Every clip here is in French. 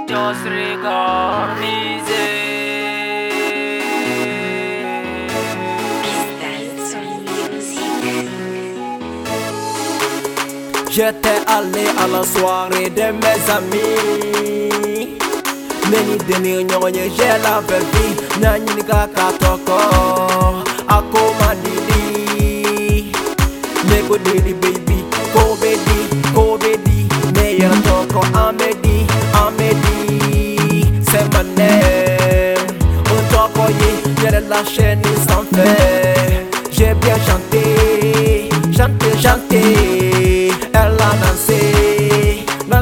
Just record music. J'étais allé à la soirée de mes amis. Neni deni nyonye j'ai la baby. Nani ni kaka toko ako madidi. Neko didi baby. Ko bedi meilleur toko Amedi. C'est ma name. On toko ye y'a de la chaîne sans fait. J'ai bien chanté. Elle a dansé.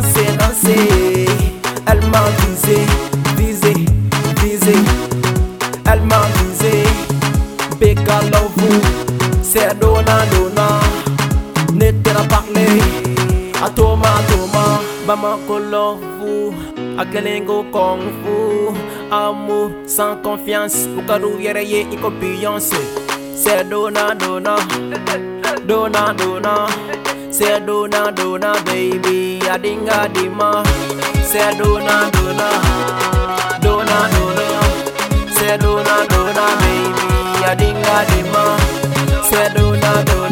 Elle m'a visé. Elle m'a visé. Beka love, c'est dona. N'était pas parlé. A Toma. Bamako love, a Kelengo Kung Fu. Amour sans confiance. Ukaru yereye iko Beyoncé. C'est dona. C'est dona baby, adinga dima. C'est dona. C'est dona baby, adinga dima. C'est dona.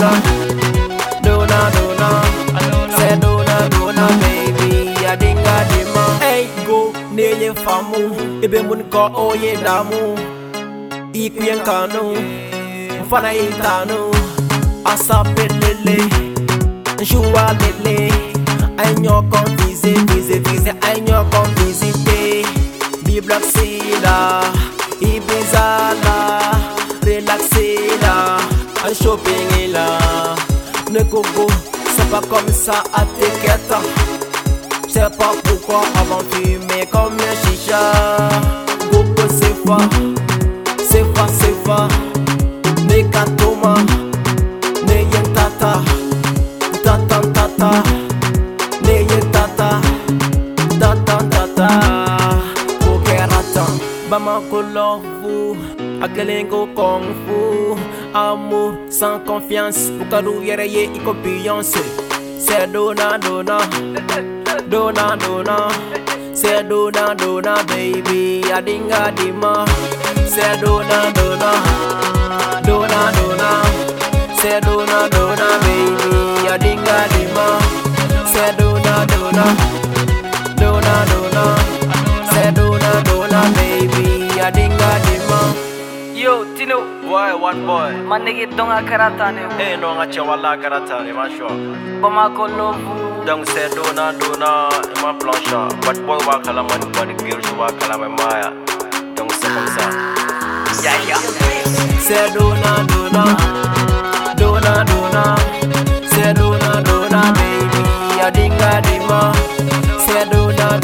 C'est dona baby, adinga dima. Hey go, neye famu, ebe mun ko oye damu. Ikuyen kanu, mfana itanu. Asape lele. Joua lele, aïnyo kon vise, aïnyo kon visite. Biblock c'est là, Ibiza là, relaxé là, un shopping est là. Ne gogo, c'est pas comme ça à t'inquiète. Je sais pas pourquoi avant fumer comme un chicha. Gogo c'est fa, Nekatoma, Neyentata. Bamako love, a Kelengo Kung Fu. Amour sans confiance, Ukaru yereye iko Beyoncé. C'est dona. C'est dona baby, adinga dima. C'est dona. C'est dona baby, adinga dima. C'est dona. C'est dona baby, adinga dima. Yo, Tino, Why, what boy? my nigga donga karatane. Eh, no, nga chawala karatani, ma sure. Bamako love. Donc c'est dona, et ma plancha. But boy, wa kalama ni body girl, je wa kalama maya. Donc c'est comme ça. Yeah. C'est dona. C'est dona baby, adinga dima. C'est dona.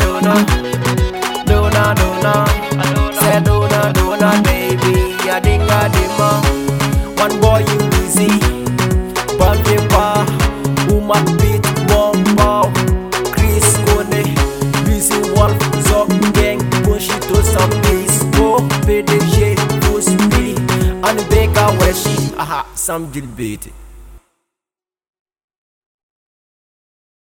C'est dona baby, adinga dima. One boy you easy, Balveba, Uma beat, Mombo, Chris Kone, Busy Wolf, Zog Gang, Bushito some Disco, PDG, Pussy, and Beka Weshi, aha, some Gilbert.